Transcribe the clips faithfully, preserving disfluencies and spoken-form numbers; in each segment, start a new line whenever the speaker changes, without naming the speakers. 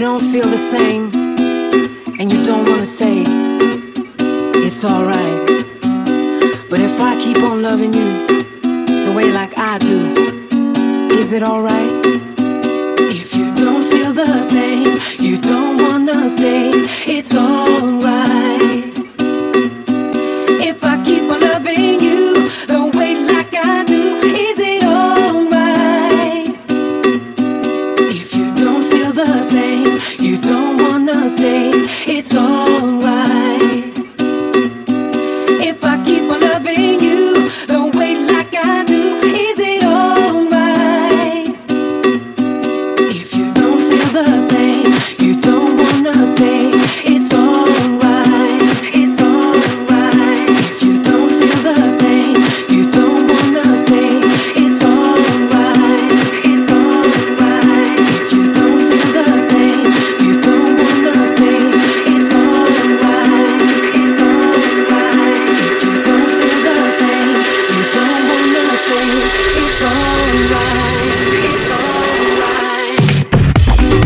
don't feel the same and you don't wanna stay, it's alright. But if I keep on loving you the way like I do, is it alright? If you don't feel the same, you don't wanna stay, it's alright. If I keep on loving you the way like I do, is it alright? If you don't feel the same, you don't wanna stay, it's alright. If I keep on loving you the way like I do, is it alright? If you don't feel the same, you don't wanna stay, it's alright. It's alright. If you don't feel the same, you don't wanna stay, it's alright. It's alright. If you don't feel the same, you don't wanna stay, it's alright. It's alright. If you don't feel the same, you don't wanna stay, it's alright. It's alright.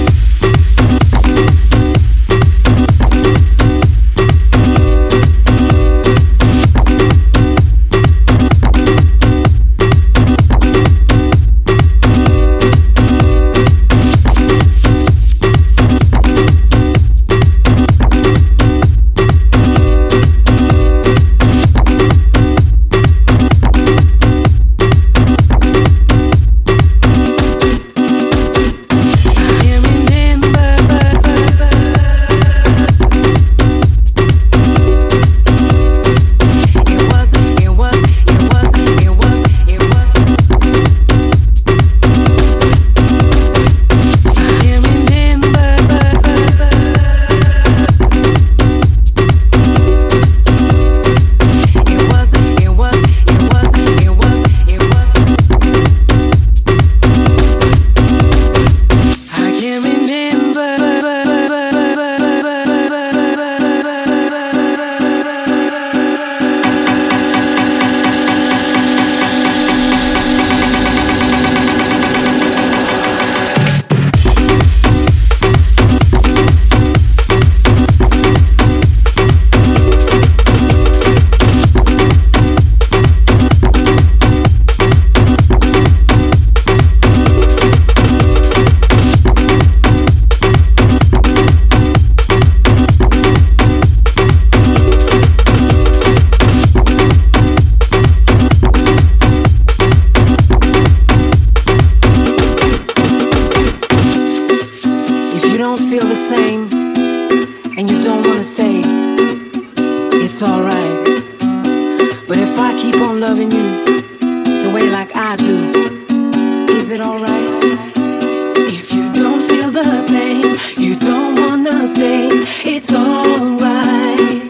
It's alright. But if I keep on loving you the way like I do, is it alright? If you don't feel the same, you don't wanna stay, it's alright.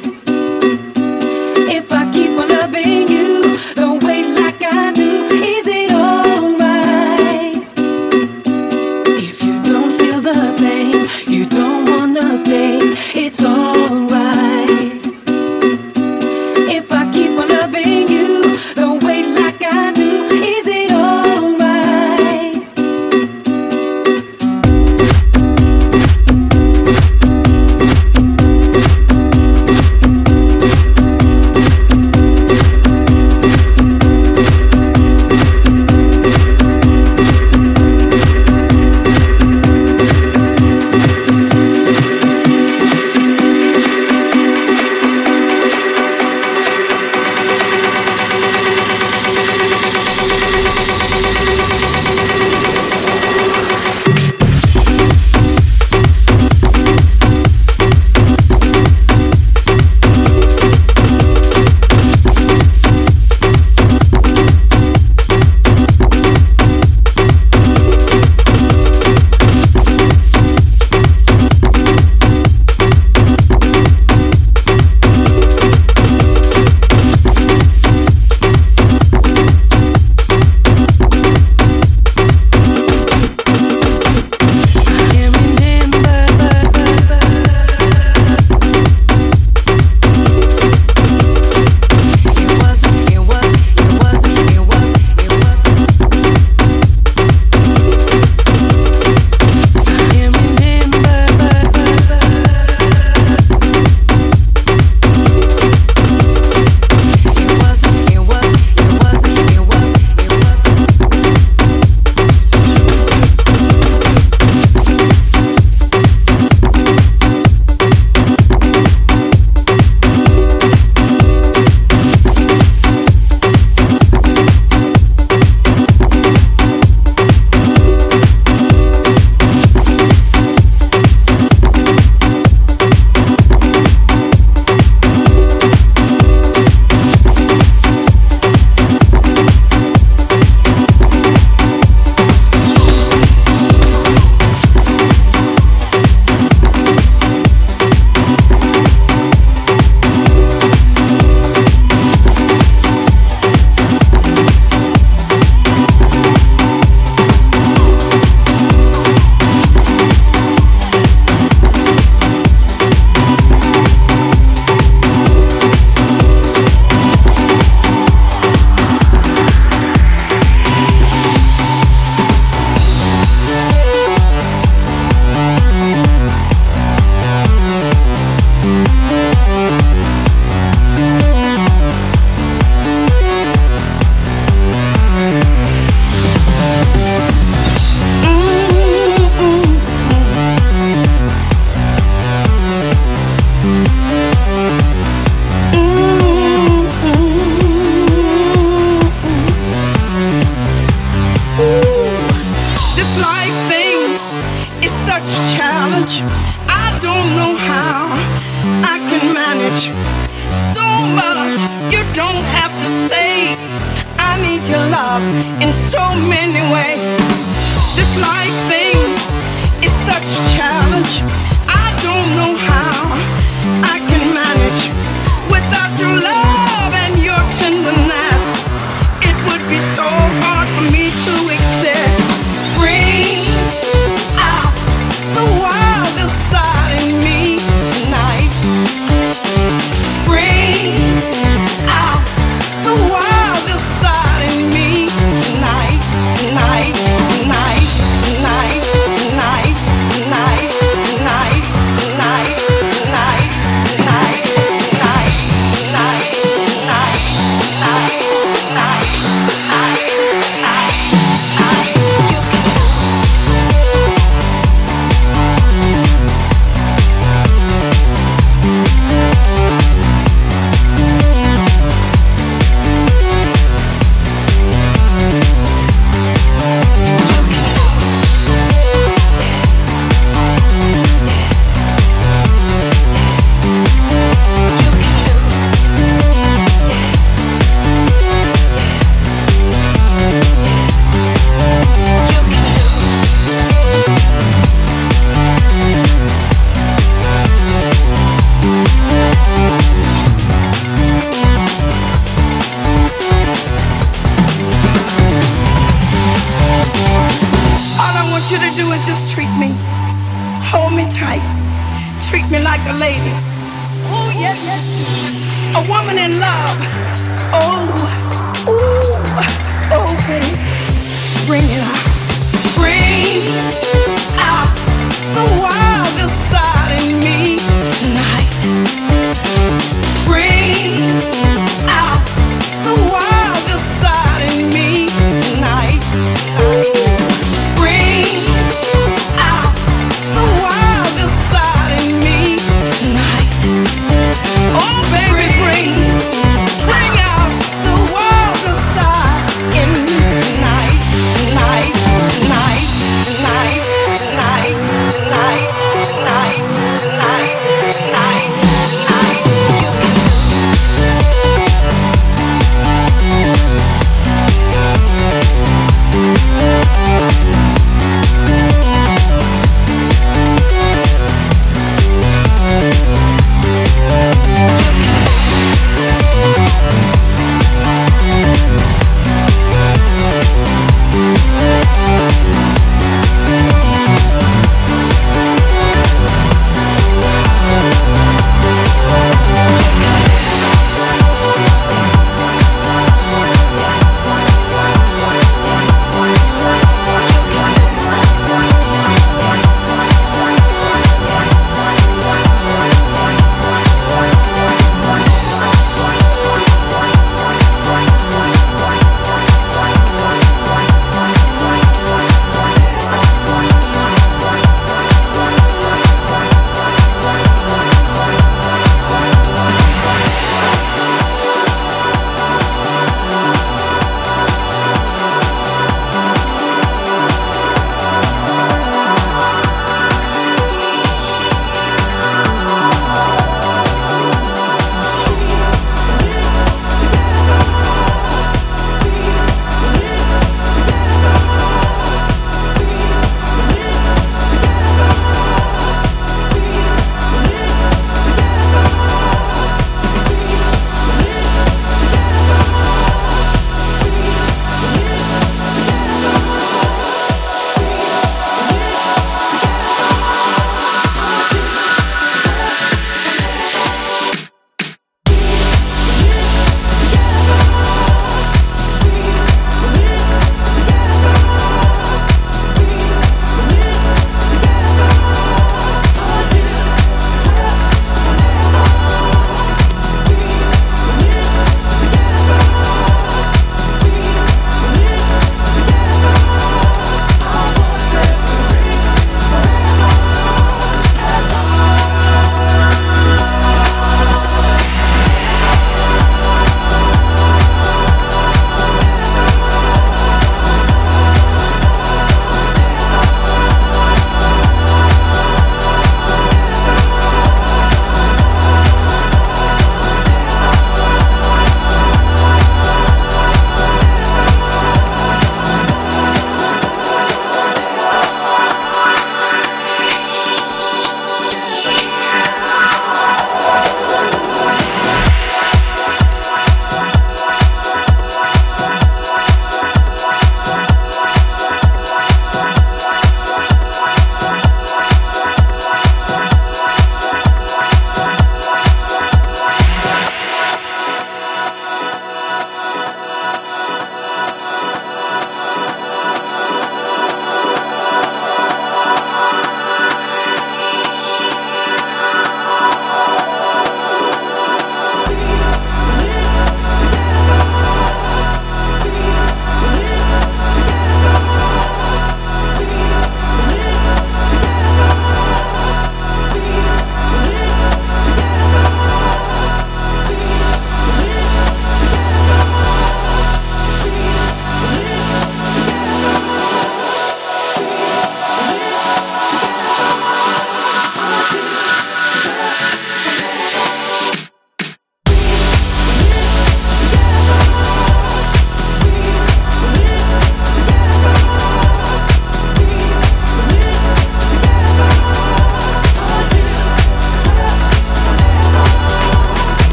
If I keep on loving you the way like I do, is it alright? If you don't feel the same, you don't wanna stay, it's alright. If I keep on loving you the way like I do, is it alright?
challenge. I don't know how I can manage so much. You don't have to say I need your love in so many ways. This life thing is such a challenge. I don't know how I can manage without your love and your tenderness. It would be so hard for me to exist. Bring out the wildest side in me tonight. Bring out the wildest side in me tonight, tonight, tonight, tonight, tonight, tonight, tonight, tonight, tonight, tonight, tonight, tonight, tonight, tonight, tonight, tonight, tonight, you can you to do is just treat me, hold me tight, treat me like a lady. Oh yes, a woman in love. Oh, ooh, oh baby, bring it out, bring out the wildest side in me tonight. Bring out the wildest side in me tonight, tonight. Oh baby, bring, bring out the wildest side in me tonight, tonight, tonight, tonight.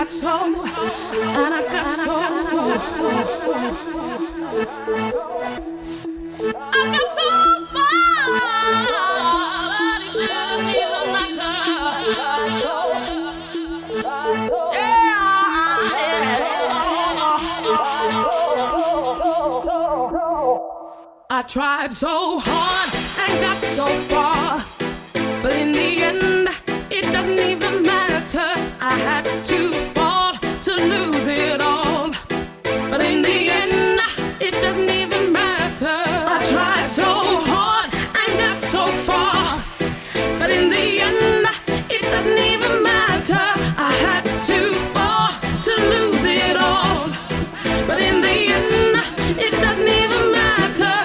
got so, and I got so, I got so far, but it didn't even matter. Yeah, I tried so hard and got so far, but in the end, it doesn't even matter. I had to fall to lose it all, but in the end, it doesn't even matter. I tried so hard and got so far, but in the end, it doesn't even matter. I had to fall to lose it all, but in the end, it doesn't even matter.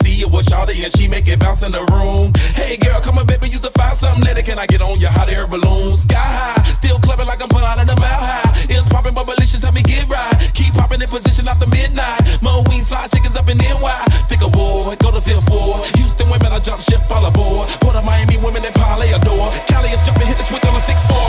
see it with Shawty and she make it bounce in the room. Hey girl, come on baby, you to find something later. Can I get on your hot air balloon? Sky high, still clubbing like I'm flying in the mile high. It's popping, but malicious, help me get right. Keep popping in position after midnight. Mo wings, fly chickens up in N Y. Think of war, go to field four. Houston women, I jump ship all aboard. Port of Miami women that parlay adore. Cali is jumping, hit the switch on a six four.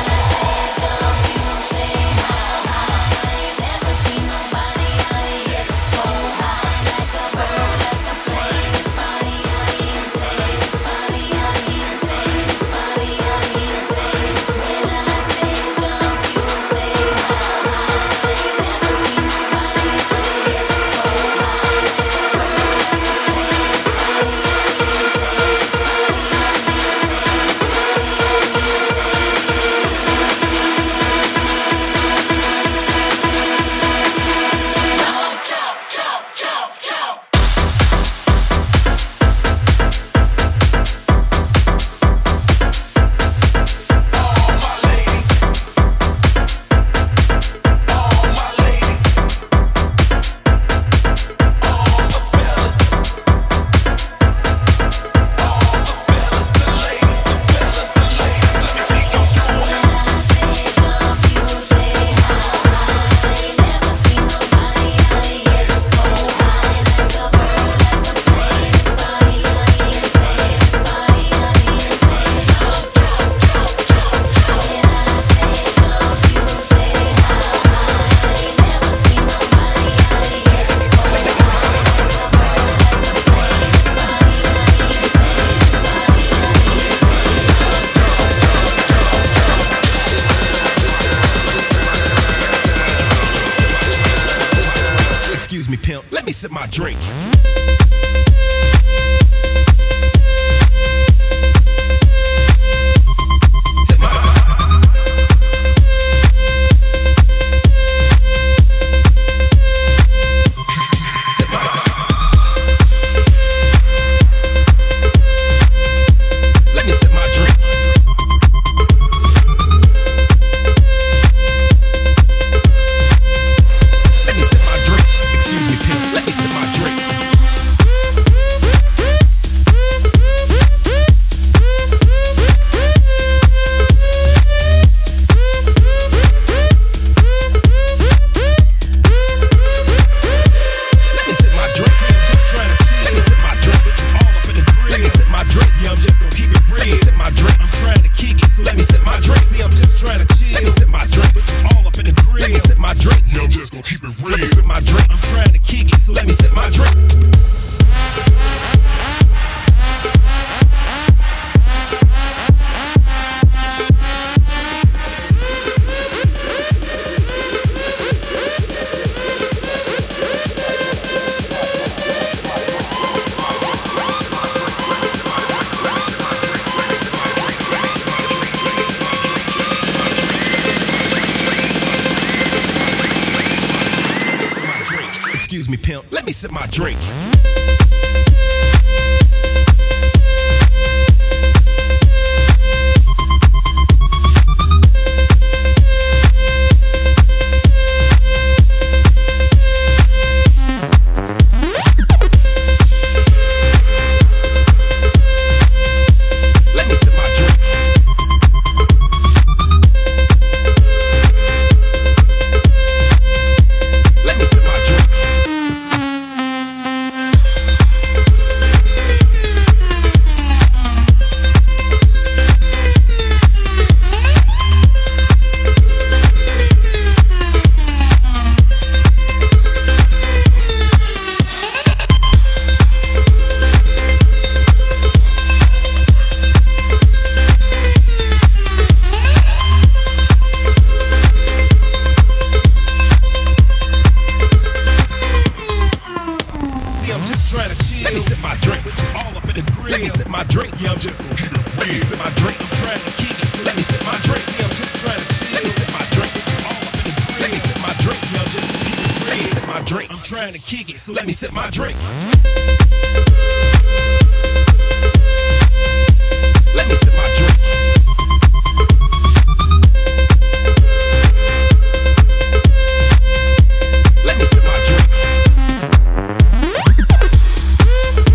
Excuse me, pimp, let me sip my drink. Sip my Sip my Let me sip my drink. Let me sip my drink. Excuse me, pimp, let me sip my drink. Let me sip my drink. I'm just trying to chill. Let me sip my drink. But you all up in the grill. Let me sip my drink. Yeah, I'm just gonna keep it real. Let me sip my drink. I'm trying to kick it. So let me sip my drink. See, I'm just trying to chill. Let me sip my drink. But you all up in the grill. Let me sip my drink. Yeah, I'm just gonna keep it real. Let me sip my drink. I'm trying to kick it. So let me sip my drink. Excuse me, pimp, let me sip my drink. Let me sip my drink. Let me sip my drink. See, I'm just trying to chill. Let me sip my drink. But you all up in the grill. Let me sip my drink. Yeah, I'm just gonna keep it real. Let me sip my drink. I'm trying to kick it. So let me sip my drink. See, I'm just trying to chill. Let me sip my drink. But you all up in the grill. Let me sip my drink. Yeah, I'm just gonna keep it real. Let me sip my drink. I'm trying to kick it. So let me sip my drink. Let me sip my drink. Let me sip my drink.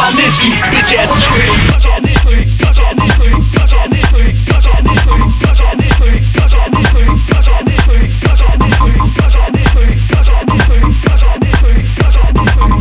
on this, you bitch ass trick. Bitch ass trick. Bitch ass trick. Bitch ass trick. Bitch ass trick. Bitch ass trick. Bitch ass trick. Bitch ass trick. Bitch ass trick. Bitch ass trick. Bitch ass trick. Bitch ass trick. Bitch ass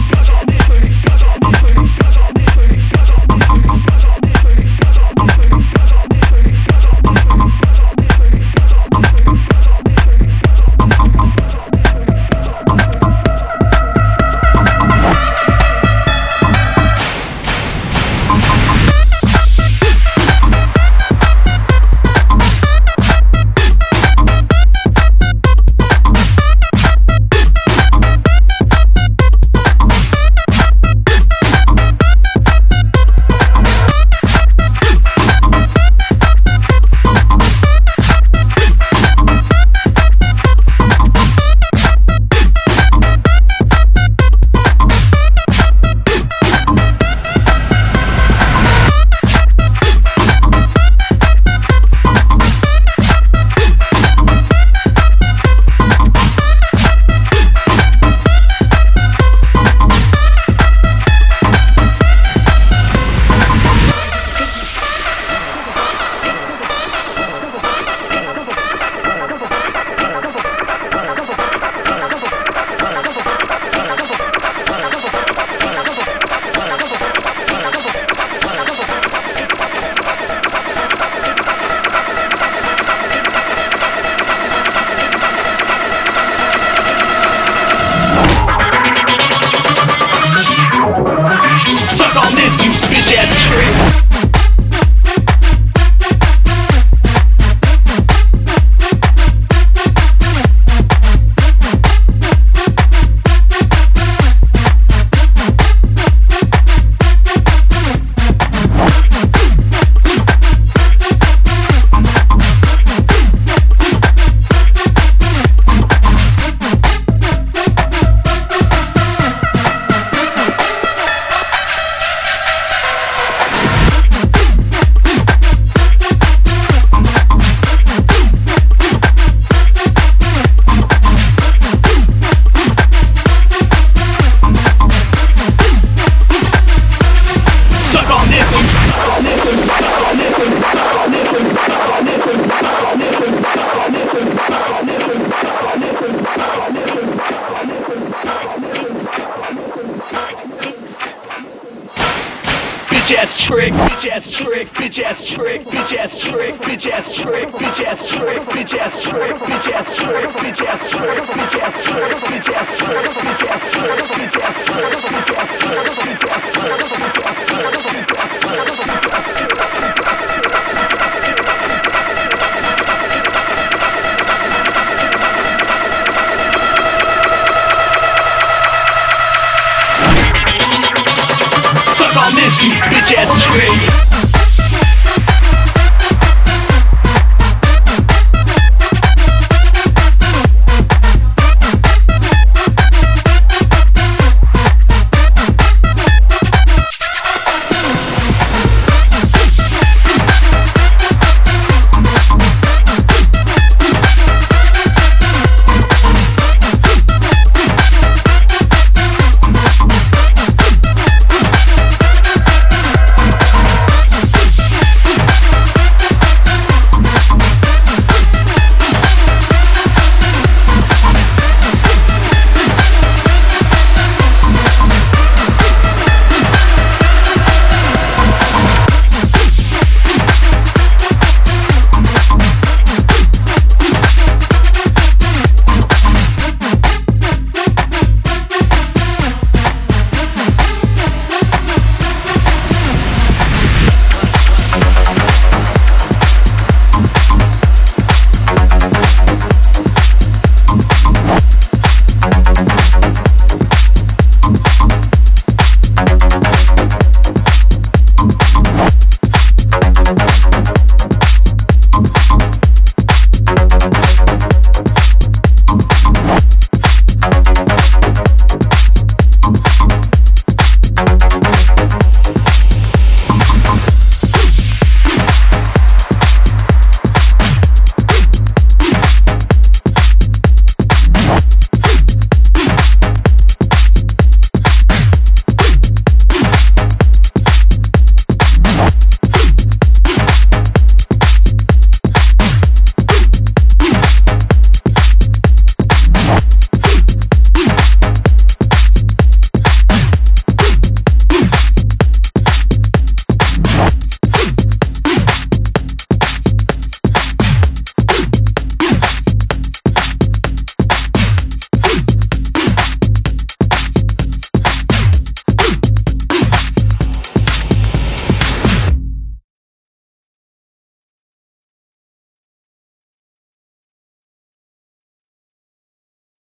trick, bitch ass trick, bitch ass trick, bitch ass trick, bitch ass trick, bitch ass trick, bitch ass trick, bitch ass trick, bitch ass trick, bitch ass trick, bitch ass trick, bitch ass trick, bitch ass trick, bitch ass trick, bitch ass trick, bitch ass Suck on this, you bitch ass trick.